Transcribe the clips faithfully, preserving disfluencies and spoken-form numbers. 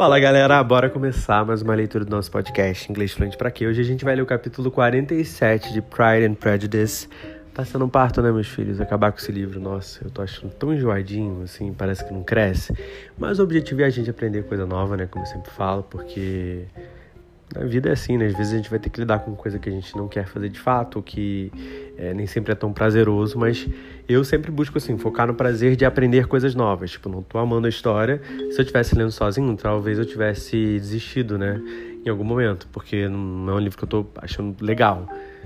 Fala galera, bora começar mais uma leitura do nosso podcast Inglês Fluente pra quê? Hoje a gente vai ler o capítulo quarenta e sete de Pride and Prejudice. Tá sendo um parto, né, meus filhos? Acabar com esse livro, nossa, eu tô achando tão enjoadinho, assim, parece que não cresce. Mas o objetivo é a gente aprender coisa nova, né, como eu sempre falo, porque a vida é assim, né? Às vezes a gente vai ter que lidar com coisa que a gente não quer fazer de fato, ou que é, nem sempre é tão prazeroso, mas eu sempre busco, assim, focar no prazer de aprender coisas novas. Tipo, não tô amando a história. Se eu estivesse lendo sozinho, talvez eu tivesse desistido, né, em algum momento, porque não é um livro que eu tô achando legal.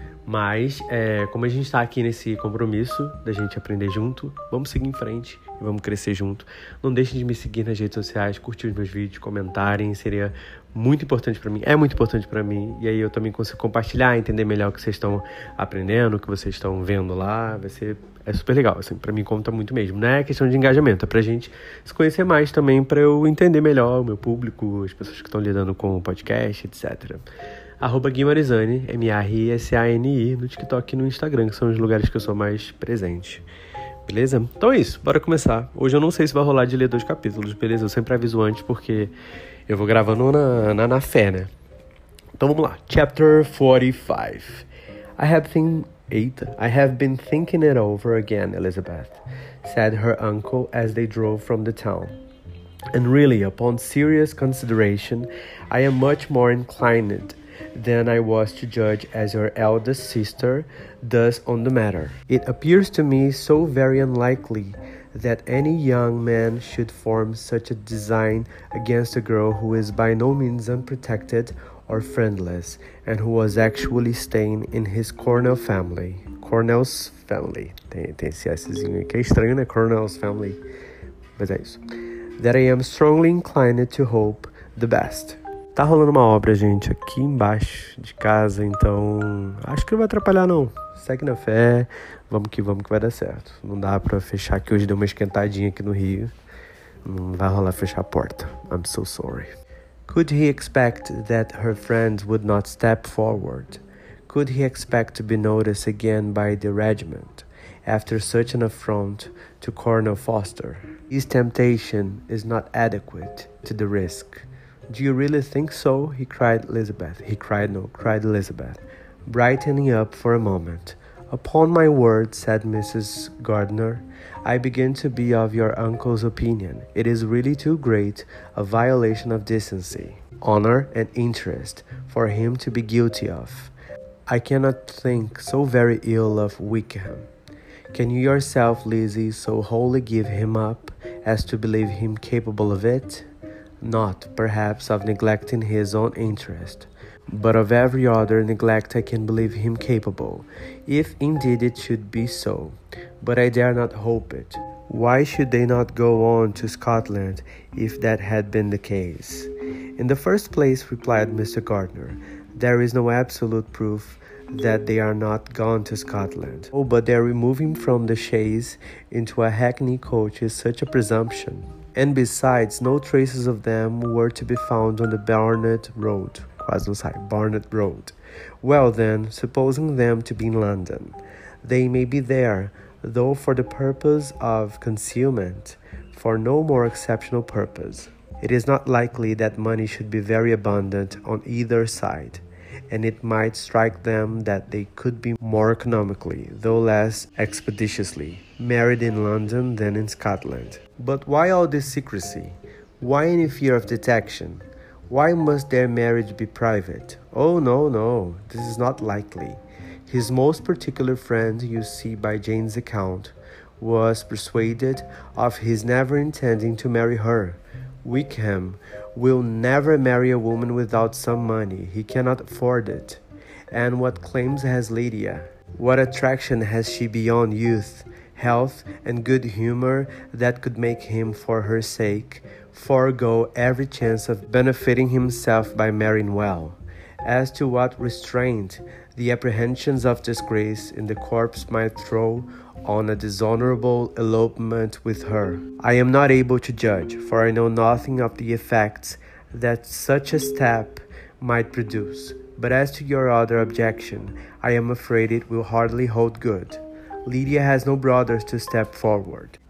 Mas, é, como a gente está aqui nesse compromisso da gente aprender junto, vamos seguir em frente e vamos crescer junto. Não deixem de me seguir nas redes sociais, curtir os meus vídeos, comentarem, seria muito importante para mim, é muito importante para mim. E aí eu também consigo compartilhar, entender melhor o que vocês estão aprendendo, o que vocês estão vendo lá, vai ser é super legal, assim, para mim conta muito mesmo. Não é questão de engajamento, é pra gente se conhecer mais também, para eu entender melhor o meu público, as pessoas que estão lidando com o podcast, etcétera. Arroba Guimarizani, M A R I S A N I, no TikTok e no Instagram, que são os lugares que eu sou mais presente. Beleza? Então é isso, bora começar. Hoje eu não sei se vai rolar de ler dois capítulos, beleza? Eu sempre aviso antes porque eu vou gravando na, na, na fé, né? Então vamos lá. Chapter forty-five. I have been, eight, I have been thinking it over again, Elizabeth, said her uncle as they drove from the town. And really, upon serious consideration, I am much more inclined than I was to judge as your eldest sister does on the matter. It appears to me so very unlikely that any young man should form such a design against a girl who is by no means unprotected or friendless, and who was actually staying in his Cornell family. Cornell's family. Tem, tem esse Szinho aí que é estranho, né? Cornell's family. Mas é isso. That I am strongly inclined to hope the best. Tá rolando uma obra, gente, aqui embaixo de casa, então acho que não vai atrapalhar, não. Segue na fé, vamos que vamos que vai dar certo. Não dá pra fechar, que hoje deu uma esquentadinha aqui no Rio. Não vai rolar fechar a porta. I'm so sorry. Could he expect that her friends would not step forward? Could he expect to be noticed again by the regiment after such an affront to Colonel Foster? His temptation is not adequate to the risk. Do you really think so? He cried Elizabeth. He cried, no, cried Elizabeth, brightening up for a moment. Upon my word, said Missus Gardner, I begin to be of your uncle's opinion. It is really too great a violation of decency, honor, and interest for him to be guilty of. I cannot think so very ill of Wickham. Can you yourself, Lizzie, so wholly give him up as to believe him capable of it? Not, perhaps, of neglecting his own interest, but of every other neglect I can believe him capable, if indeed it should be so. But I dare not hope it. Why should they not go on to Scotland if that had been the case? In the first place, replied Mister Gardner, there is no absolute proof that they are not gone to Scotland. Oh, but their removing from the chaise into a hackney coach is such a presumption. And besides, no traces of them were to be found on the Barnet Road. Quase não sai, Barnet Road. Well then, supposing them to be in London, they may be there, though for the purpose of concealment, for no more exceptional purpose. It is not likely that money should be very abundant on either side, and it might strike them that they could be more economically, though less expeditiously, married in London than in Scotland. But why all this secrecy? Why any fear of detection? Why must their marriage be private? Oh, no, no, this is not likely. His most particular friend, you see by Jane's account, was persuaded of his never intending to marry her. Wickham will never marry a woman without some money. He cannot afford it. And what claims has Lydia? What attraction has she beyond youth, health, and good humor that could make him, for her sake, forego every chance of benefiting himself by marrying well? As to what restraint the apprehensions of disgrace in the corpse might throw on a dishonorable elopement with her, I am not able to judge, for I know nothing of the effects that such a step might produce. But as to your other objection, I am afraid it will hardly hold good. Lydia has no brothers to step forward.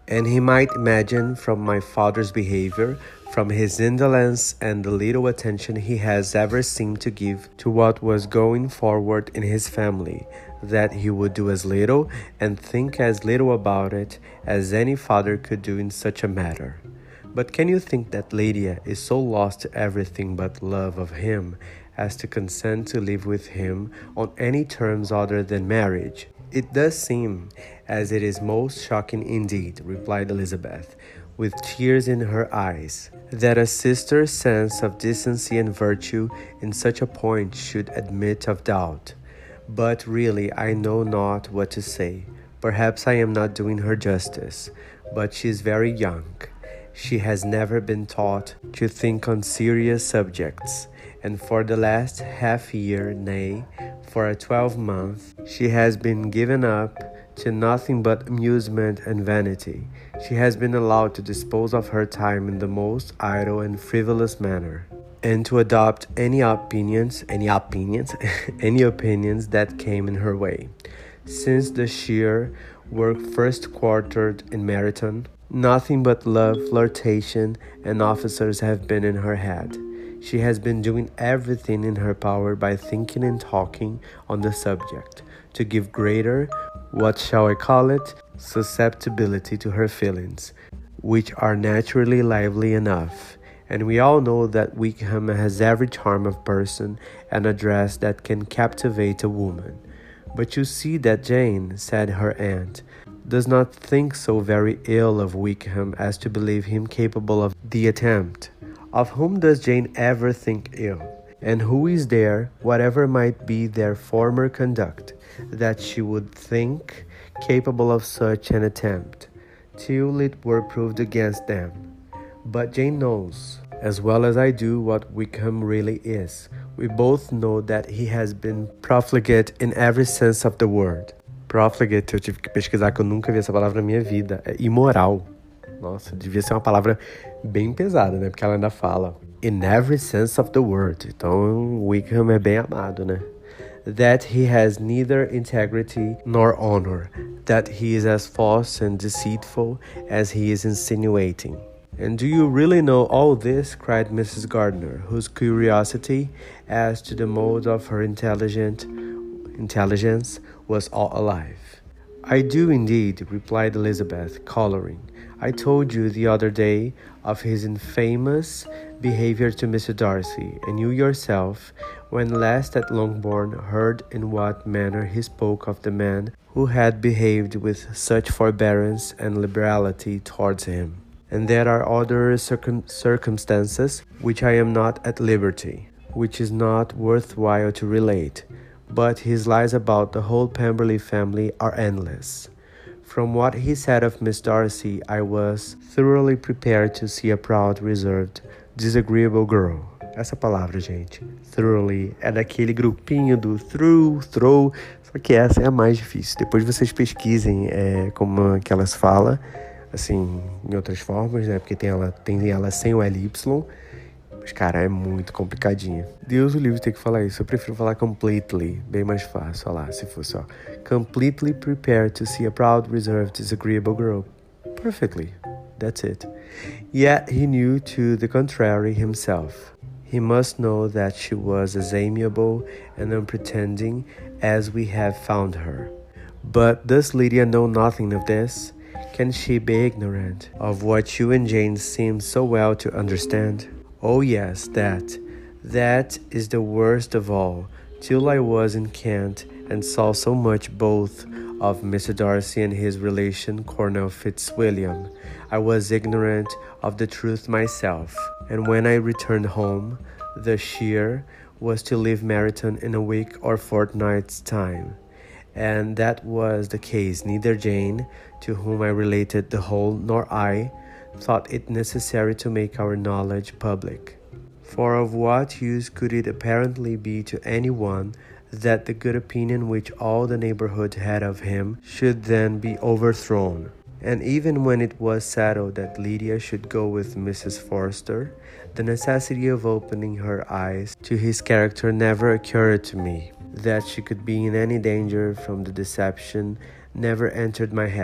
And he might imagine from my father's behavior, from his indolence and the little attention he has ever seemed to give to what was going forward in his family, that he would do as little and think as little about it as any father could do in such a matter. But can you think that Lydia is so lost to everything but love of him as to consent to live with him on any terms other than marriage? It does seem as it is most shocking indeed, replied Elizabeth, with tears in her eyes, that a sister's sense of decency and virtue in such a point should admit of doubt. But really I know not what to say. Perhaps I am not doing her justice, but she is very young. She has never been taught to think on serious subjects, and for the last half year, nay, for a twelvemonth, she has been given up to nothing but amusement and vanity. She has been allowed to dispose of her time in the most idle and frivolous manner, and to adopt any opinions, any opinions, any opinions that came in her way. Since the sheer work first quartered in Meryton, nothing but love, flirtation, and officers have been in her head. She has been doing everything in her power by thinking and talking on the subject, to give greater, what shall I call it, susceptibility to her feelings, which are naturally lively enough. And we all know that Wickham has every charm of person and address that can captivate a woman. But you see that Jane, said her aunt, does not think so very ill of Wickham as to believe him capable of the attempt. Of whom does Jane ever think ill? And who is there, whatever might be their former conduct, that she would think capable of such an attempt, till it were proved against them? But Jane knows, as well as I do, what Wickham really is. We both know that he has been profligate in every sense of the word. Profligate, eu tive que pesquisar, que eu nunca vi essa palavra na minha vida. É imoral. Nossa, devia ser uma palavra bem pesada, né? Porque ela ainda fala in every sense of the word. Então, Wickham é bem amado, né? That he has neither integrity nor honor. That he is as false and deceitful as he is insinuating. And do you really know all this? Cried Missus Gardiner, whose curiosity as to the mode of her intelligent intelligence was all alive. I do indeed, replied Elizabeth, colouring. I told you the other day of his infamous behaviour to Mister Darcy, and you yourself, when last at Longbourn, heard in what manner he spoke of the man who had behaved with such forbearance and liberality towards him. And there are other circum circumstances which I am not at liberty, which is not worth while to relate, but his lies about the whole Pemberley family are endless. From what he said of Miss Darcy, I was thoroughly prepared to see a proud, reserved, disagreeable girl. Essa palavra, gente, thoroughly, é daquele grupinho do through, throw, só que essa é a mais difícil. Depois vocês pesquisem é, como que elas falam, assim, em outras formas, né? Porque tem ela, tem ela sem o L Y, mas, cara, é muito complicadinha. Deus o livre ter que falar isso. Eu prefiro falar completely, bem mais fácil. Olha lá, se fosse, ó. Completely prepared to see a proud, reserved, disagreeable girl. Perfectly. That's it. Yet he knew to the contrary himself. He must know that she was as amiable and unpretending as we have found her. But does Lydia know nothing of this? Can she be ignorant of what you and Jane seem so well to understand? Oh yes, that. That is the worst of all. Till I was in Kent and saw so much both of Mister Darcy and his relation Colonel Fitzwilliam, I was ignorant of the truth myself. And when I returned home, the shear was to leave Meryton in a week or fortnight's time. And that was the case. Neither Jane, to whom I related the whole, nor I, thought it necessary to make our knowledge public. For of what use could it apparently be to any one that the good opinion which all the neighbourhood had of him should then be overthrown? And even when it was settled that Lydia should go with Missus Forster, the necessity of opening her eyes to his character never occurred to me. That she could be in any danger from the deception never entered my head.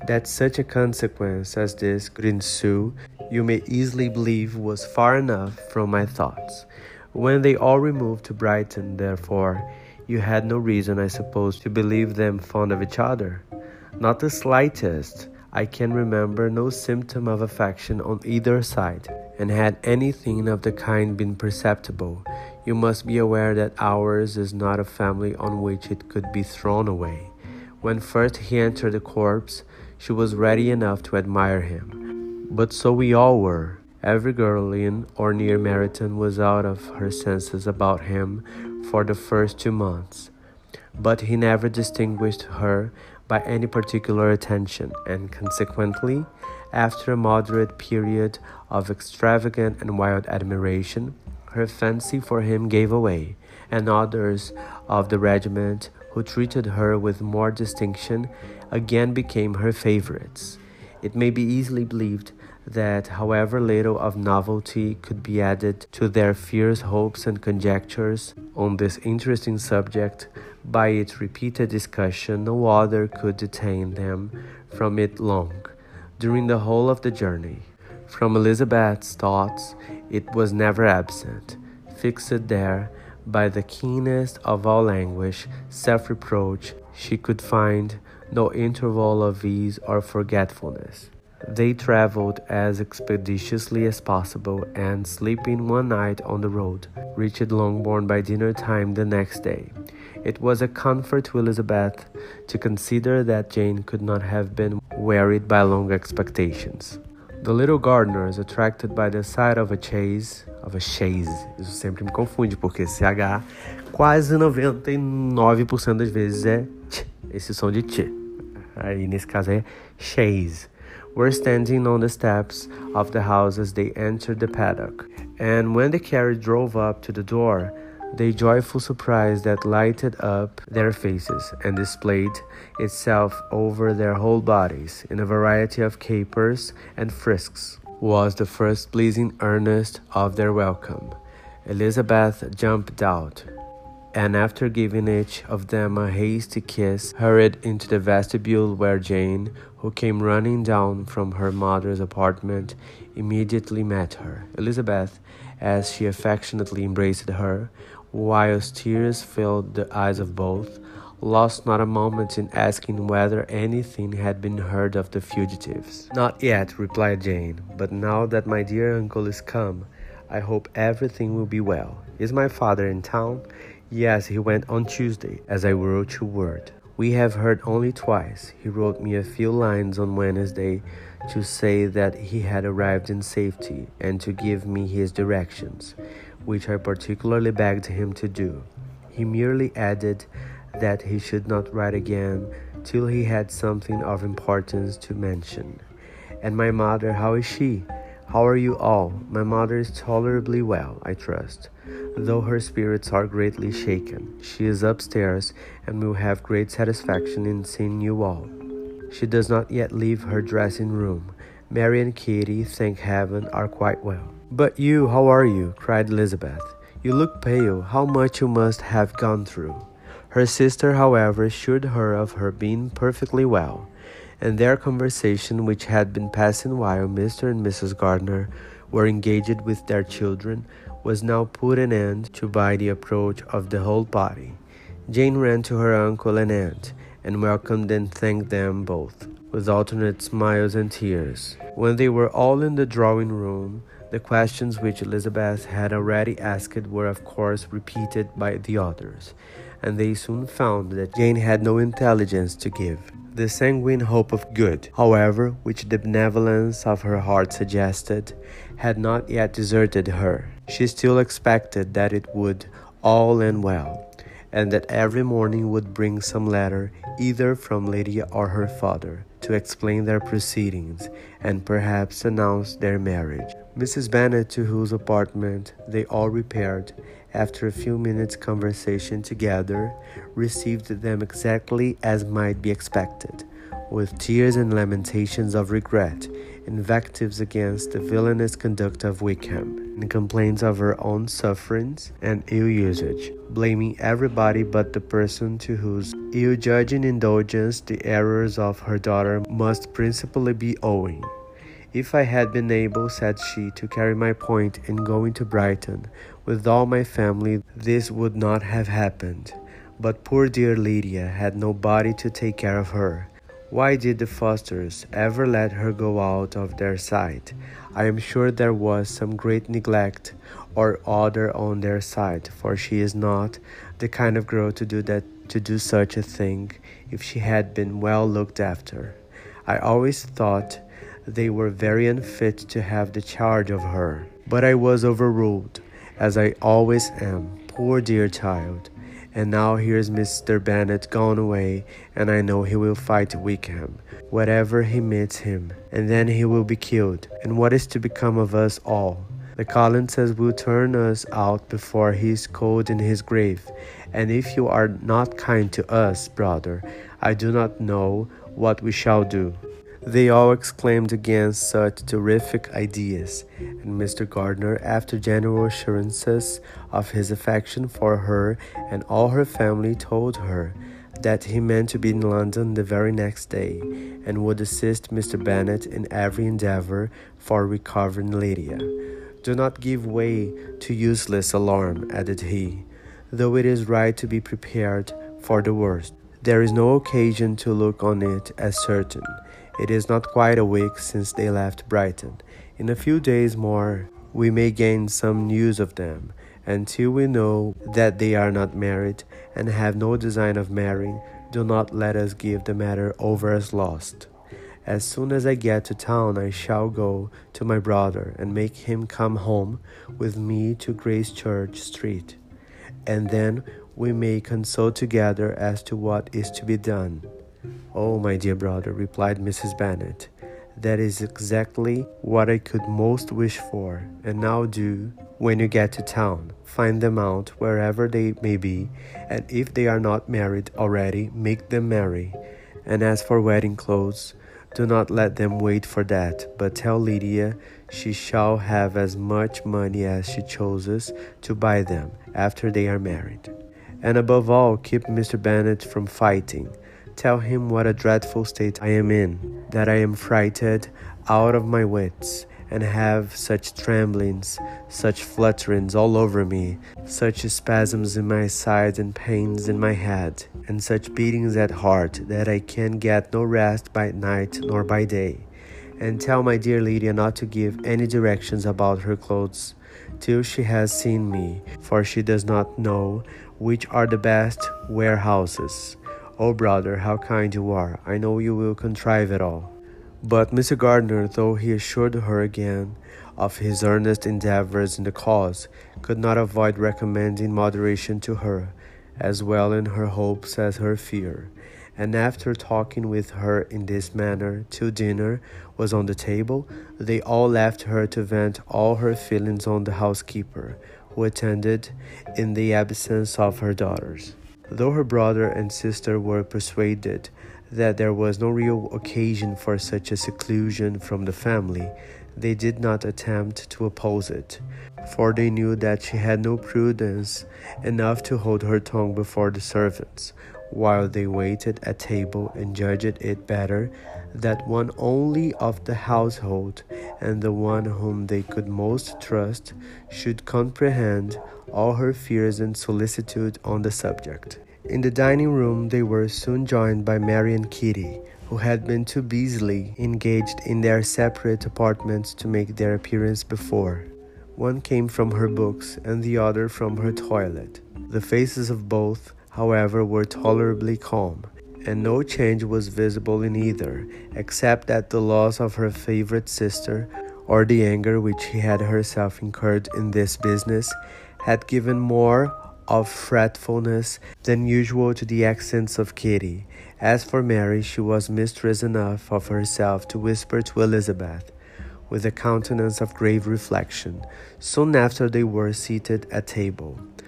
That such a consequence as this could ensue, you may easily believe was far enough from my thoughts. When they all removed to Brighton, therefore, you had no reason, I suppose, to believe them fond of each other. Not the slightest. I can remember no symptom of affection on either side, and had anything of the kind been perceptible, you must be aware that ours is not a family on which it could be thrown away. When first he entered the corps, she was ready enough to admire him. But so we all were. Every girl in or near Meryton was out of her senses about him for the first two months. But he never distinguished her by any particular attention, and consequently, after a moderate period of extravagant and wild admiration, her fancy for him gave way, and others of the regiment, who treated her with more distinction, again became her favorites. It may be easily believed that however little of novelty could be added to their fierce hopes and conjectures on this interesting subject, by its repeated discussion no other could detain them from it long, during the whole of the journey. From Elizabeth's thoughts it was never absent, fixed there by the keenest of all anguish, self-reproach. She could find no interval of ease or forgetfulness. They travelled as expeditiously as possible, and, sleeping one night on the road, reached Longbourn by dinner time the next day. It was a comfort to Elizabeth to consider that Jane could not have been wearied by long expectations. The little Gardners, attracted by the sight of a chaise, of a chaise, isso sempre me confunde, porque C H quase noventa e nove por cento das vezes é tch, esse som de tch. Aí nesse caso é chaise. Were standing on the steps of the house as they entered the paddock, and when the carriage drove up to the door, the joyful surprise that lighted up their faces and displayed itself over their whole bodies in a variety of capers and frisks was the first pleasing earnest of their welcome. Elizabeth jumped out, and after giving each of them a hasty kiss, hurried into the vestibule, where Jane, who came running down from her mother's apartment, immediately met her. Elizabeth, as she affectionately embraced her, whilst tears filled the eyes of both, lost not a moment in asking whether anything had been heard of the fugitives. "Not yet," replied Jane, "but now that my dear uncle is come, I hope everything will be well. Is my father in town?" "Yes, he went on Tuesday, as I wrote you word." "We have heard only twice. He wrote me a few lines on Wednesday to say that he had arrived in safety, and to give me his directions, which I particularly begged him to do. He merely added that he should not write again till he had something of importance to mention." "And my mother, how is she? How are you all?" "My mother is tolerably well, I trust, though her spirits are greatly shaken. She is upstairs, and will have great satisfaction in seeing you all. She does not yet leave her dressing-room. Mary and Kitty, thank heaven, are quite well." "But you, how are you?" cried Elizabeth. "You look pale. How much you must have gone through." Her sister, however, assured her of her being perfectly well, and their conversation, which had been passing while Mister and Missus Gardner were engaged with their children, was now put an end to by the approach of the whole party. Jane ran to her uncle and aunt, and welcomed and thanked them both, with alternate smiles and tears. When they were all in the drawing-room, the questions which Elizabeth had already asked were of course repeated by the others, and they soon found that Jane had no intelligence to give. The sanguine hope of good, however, which the benevolence of her heart suggested, had not yet deserted her. She still expected that it would all end well, and that every morning would bring some letter either from Lydia or her father to explain their proceedings, and perhaps announce their marriage. Missus Bennet, to whose apartment they all repaired, after a few minutes' conversation together, received them exactly as might be expected. with tears and lamentations of regret, invectives against the villainous conduct of Wickham, and complaints of her own sufferings and ill usage, blaming everybody but the person to whose ill-judging indulgence the errors of her daughter must principally be owing. If I had been able, said she, to carry my point in going to Brighton with all my family, this would not have happened. But poor dear Lydia had nobody to take care of her. Why did the Fosters ever let her go out of their sight? I am sure there was some great neglect or other on their side, for she is not the kind of girl to do that, to do such a thing if she had been well looked after. I always thought they were very unfit to have the charge of her, but I was overruled, as I always am. Poor dear child. And now here's Mister Bennet gone away, and I know he will fight Wickham, wherever he meets him, and then he will be killed. And what is to become of us all? The Collinses will turn us out before he is cold in his grave, and if you are not kind to us, brother, I do not know what we shall do. They all exclaimed against such terrific ideas, and Mister Gardner, after general assurances of his affection for her and all her family, told her that he meant to be in London the very next day, and would assist Mister Bennet in every endeavour for recovering Lydia. Do not give way to useless alarm, added he, though it is right to be prepared for the worst. There is no occasion to look on it as certain. It is not quite a week since they left Brighton. In a few days more we may gain some news of them. Until we know that they are not married and have no design of marrying, do not let us give the matter over as lost. As soon as I get to town, I shall go to my brother and make him come home with me to Gracechurch Street, and then we may consult together as to what is to be done. Oh, my dear brother, replied Missus Bennet, that is exactly what I could most wish for. And now do, when you get to town, find them out wherever they may be, and if they are not married already, make them marry. And as for wedding clothes, do not let them wait for that, but tell Lydia she shall have as much money as she chooses to buy them after they are married. And above all, keep Mister Bennet from fighting. Tell him what a dreadful state I am in, that I am frighted out of my wits, and have such tremblings, such flutterings all over me, such spasms in my sides and pains in my head, and such beatings at heart, that I can get no rest by night nor by day. And tell my dear Lydia not to give any directions about her clothes till she has seen me, for she does not know which are the best warehouses. Oh, brother, how kind you are. I know you will contrive it all. But Mister Gardner, though he assured her again of his earnest endeavours in the cause, could not avoid recommending moderation to her, as well in her hopes as her fear. And after talking with her in this manner till dinner was on the table, they all left her to vent all her feelings on the housekeeper, who attended in the absence of her daughters. Though her brother and sister were persuaded that there was no real occasion for such a seclusion from the family, they did not attempt to oppose it, for they knew that she had no prudence enough to hold her tongue before the servants, while they waited at table and judged it better that one only of the household, and the one whom they could most trust, should comprehend all her fears and solicitude on the subject. In the dining room they were soon joined by Mary and Kitty, who had been too busily engaged in their separate apartments to make their appearance before. One came from her books, and the other from her toilet. The faces of both, however, were tolerably calm, and no change was visible in either, except that the loss of her favourite sister, or the anger which she had herself incurred in this business, had given more of fretfulness than usual to the accents of Kitty. As for Mary, she was mistress enough of herself to whisper to Elizabeth, with a countenance of grave reflection, soon after they were seated at table,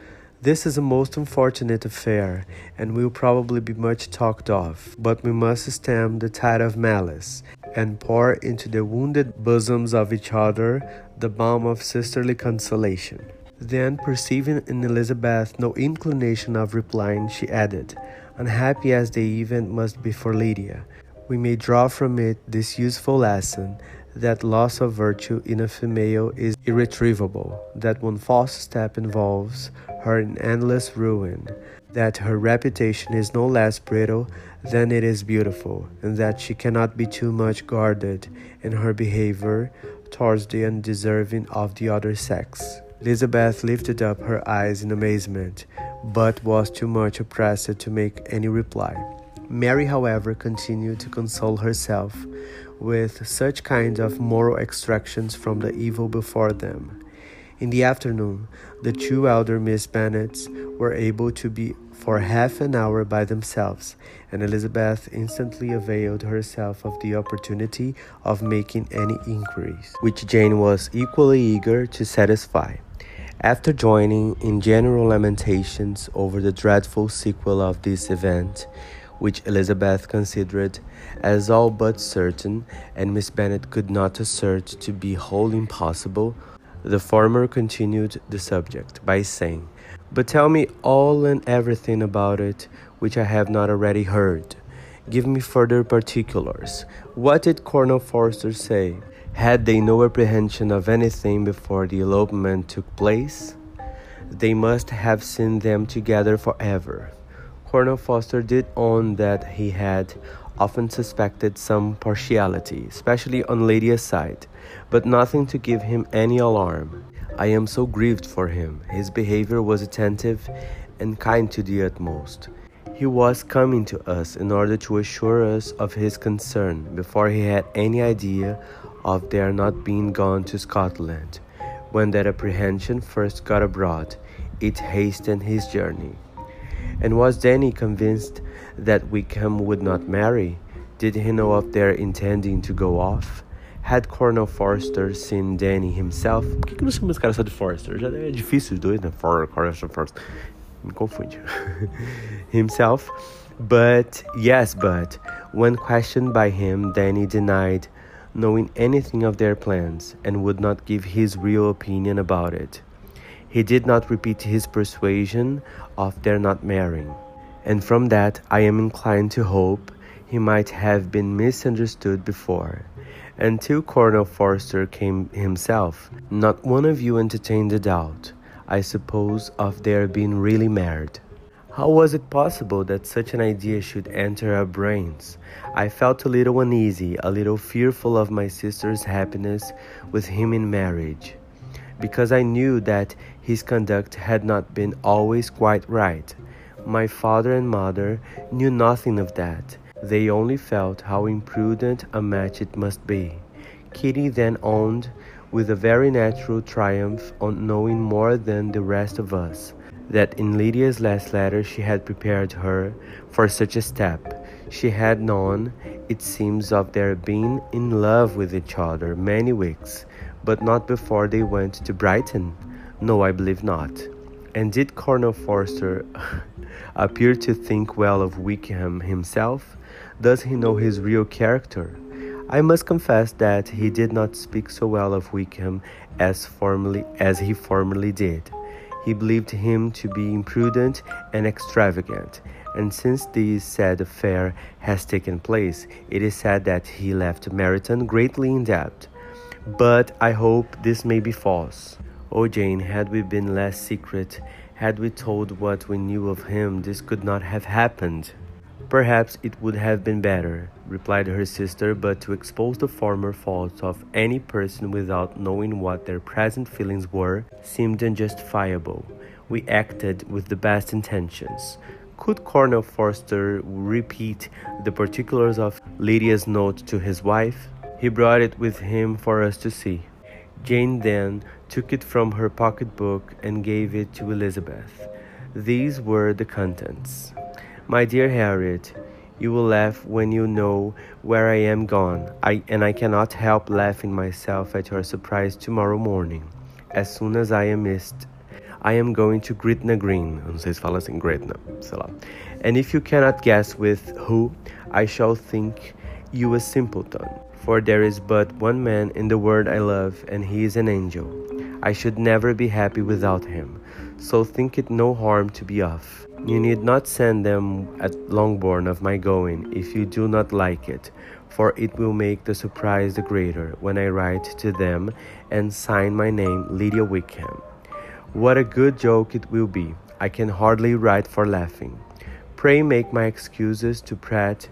This is a most unfortunate affair, and will probably be much talked of, but we must stem the tide of malice, and pour into the wounded bosoms of each other the balm of sisterly consolation. Then, perceiving in Elizabeth no inclination of replying, she added, "Unhappy as the event must be for Lydia, we may draw from it this useful lesson, that loss of virtue in a female is irretrievable, that one false step involves her in endless ruin, that her reputation is no less brittle than it is beautiful, and that she cannot be too much guarded in her behavior towards the undeserving of the other sex." Elizabeth lifted up her eyes in amazement, but was too much oppressed to make any reply. Mary, however, continued to console herself with such kind of moral extractions from the evil before them. In the afternoon, the two elder Miss Bennets were able to be for half an hour by themselves, and Elizabeth instantly availed herself of the opportunity of making any inquiries, which Jane was equally eager to satisfy. After joining in general lamentations over the dreadful sequel of this event, which Elizabeth considered as all but certain, and Miss Bennet could not assert to be wholly impossible, the former continued the subject by saying, "But tell me all and everything about it which I have not already heard. Give me further particulars. What did Colonel Forster say? Had they no apprehension of anything before the elopement took place? They must have seen them together forever." Colonel Forster did own that he had often suspected some partiality, especially on Lydia's side, but nothing to give him any alarm. "I am so grieved for him. His behavior was attentive and kind to the utmost. He was coming to us in order to assure us of his concern before he had any idea of their not being gone to Scotland. When that apprehension first got abroad, it hastened his journey." And was Danny convinced that Wickham would not marry? Did he know of their intending to go off? Had Colonel Forster seen Danny himself? Por que que não chama esse cara só de Forster? Já é difícil os dois, né? For, Forster, Forster. Me confunde. Himself? But, yes, but, when questioned by him, Danny denied knowing anything of their plans, and would not give his real opinion about it. He did not repeat his persuasion of their not marrying, and from that I am inclined to hope he might have been misunderstood before. Until Colonel Forster came himself, not one of you entertained a doubt, I suppose, of their being really married. How was it possible that such an idea should enter our brains? I felt a little uneasy, a little fearful of my sister's happiness with him in marriage, because I knew that his conduct had not been always quite right. My father and mother knew nothing of that. They only felt how imprudent a match it must be. Kitty then owned, with a very natural triumph on knowing more than the rest of us, that in Lydia's last letter she had prepared her for such a step. She had known, it seems, of their being in love with each other many weeks, but not before they went to Brighton. No, I believe not. And did Colonel Forster appear to think well of Wickham himself? Does he know his real character? I must confess that he did not speak so well of Wickham as formerly as he formerly did. He believed him to be imprudent and extravagant, and since this said affair has taken place, it is said that he left Meryton greatly in debt. But I hope this may be false. Oh, Jane, had we been less secret, had we told what we knew of him, this could not have happened. Perhaps it would have been better, replied her sister, but to expose the former faults of any person without knowing what their present feelings were seemed unjustifiable. We acted with the best intentions. Could Colonel Forster repeat the particulars of Lydia's note to his wife? He brought it with him for us to see. Jane then took it from her pocketbook and gave it to Elizabeth. These were the contents. My dear Harriet, you will laugh when you know where I am gone, I, and I cannot help laughing myself at your surprise tomorrow morning, as soon as I am missed. I am going to Gretna Green. Eu não sei se fala assim, Gretna, sei lá. And if you cannot guess with who, I shall think you a simpleton. For there is but one man in the world I love, and he is an angel. I should never be happy without him. So think it no harm to be off. You need not send them at Longbourn of my going, if you do not like it, for it will make the surprise the greater when I write to them and sign my name Lydia Wickham. What a good joke it will be. I can hardly write for laughing. Pray make my excuses to Pratt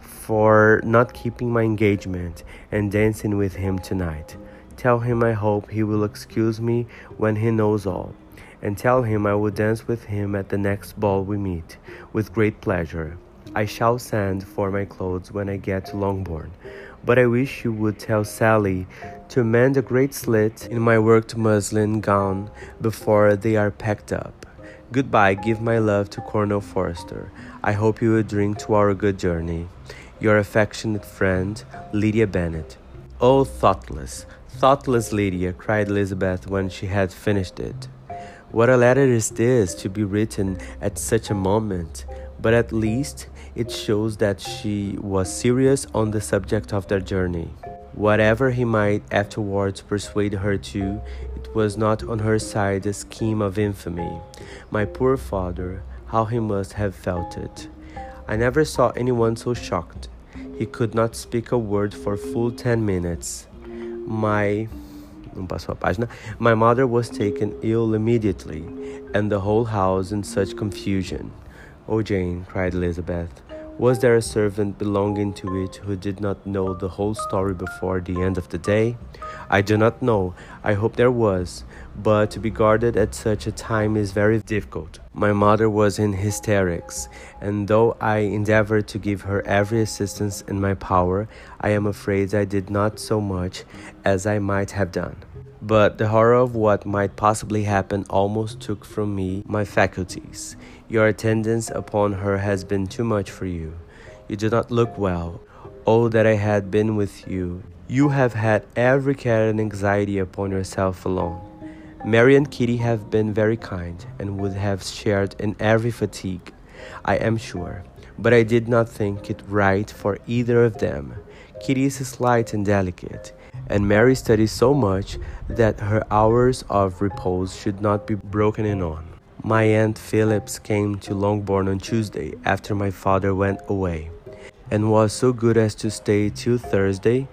for not keeping my engagement and dancing with him tonight. Tell him I hope he will excuse me when he knows all, and tell him I will dance with him at the next ball we meet, with great pleasure. I shall send for my clothes when I get to Longbourn, but I wish you would tell Sally to mend a great slit in my worked muslin gown before they are packed up. Goodbye, give my love to Colonel Forster. I hope you will drink to our good journey. Your affectionate friend, Lydia Bennet. Oh, thoughtless, thoughtless Lydia, cried Elizabeth when she had finished it. What a letter is this to be written at such a moment, but at least it shows that she was serious on the subject of their journey. Whatever he might afterwards persuade her to, it was not on her side a scheme of infamy. My poor father, how he must have felt it. I never saw anyone so shocked. He could not speak a word for full ten minutes. My... Não passou a página. My mother was taken ill immediately, and the whole house in such confusion. Oh, Jane, cried Elizabeth, was there a servant belonging to it who did not know the whole story before the end of the day? I do not know. I hope there was, but to be guarded at such a time is very difficult. My mother was in hysterics, and though I endeavored to give her every assistance in my power, I am afraid I did not so much as I might have done. But the horror of what might possibly happen almost took from me my faculties. Your attendance upon her has been too much for you. You do not look well. Oh, that I had been with you. You have had every care and anxiety upon yourself alone. Mary and Kitty have been very kind, and would have shared in every fatigue, I am sure. But I did not think it right for either of them. Kitty is slight and delicate, and Mary studies so much that her hours of repose should not be broken in on. My Aunt Phillips came to Longbourn on Tuesday after my father went away, and was so good as to stay till Thursday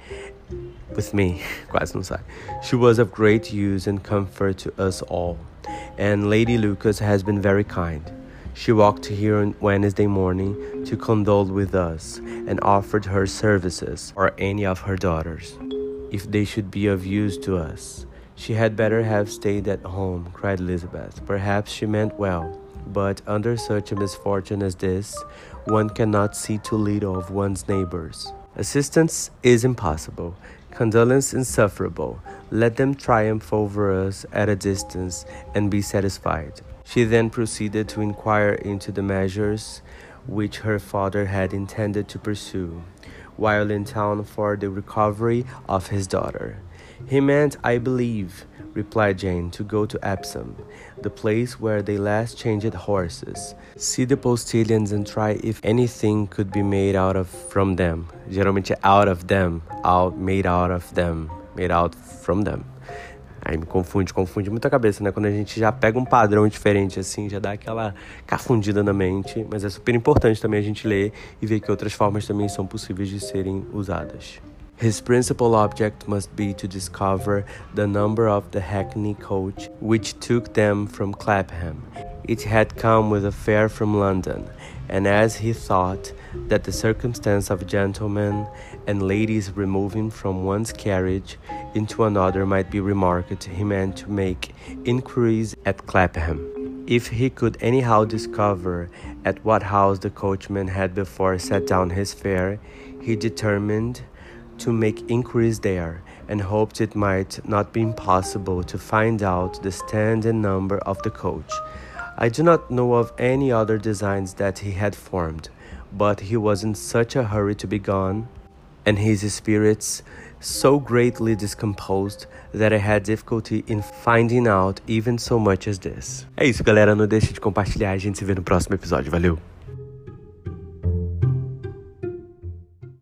with me. Quase não sai. She was of great use and comfort to us all, and Lady Lucas has been very kind. She walked here on Wednesday morning to condole with us, and offered her services, or any of her daughters, if they should be of use to us. She had better have stayed at home, cried Elizabeth. Perhaps she meant well, but under such a misfortune as this, one cannot see too little of one's neighbors. Assistance is impossible, condolence insufferable. Let them triumph over us at a distance and be satisfied. She then proceeded to inquire into the measures which her father had intended to pursue, while in town for the recovery of his daughter. He meant, I believe, replied Jane, to go to Epsom, the place where they last changed horses. See the postilions and try if anything could be made out of from them. Geralmente out of them, out, made out of them, made out from them. Aí me confunde, confunde muito a cabeça, né? Quando a gente já pega um padrão diferente assim, já dá aquela cafundida na mente. Mas é super importante também a gente ler e ver que outras formas também são possíveis de serem usadas. His principal object must be to discover the number of the hackney coach which took them from Clapham. It had come with a fare from London, and as he thought that the circumstance of gentlemen and ladies removing from one's carriage into another might be remarked, he meant to make inquiries at Clapham. If he could anyhow discover at what house the coachman had before set down his fare, he determined to make inquiries there, and hoped it might not be impossible to find out the stand and number of the coach. I do not know of any other designs that he had formed, but he was in such a hurry to be gone. and his spirits so greatly discomposed that I had difficulty in finding out even so much as this. É isso, galera. Não deixe de compartilhar. A gente se vê no próximo episódio. Valeu!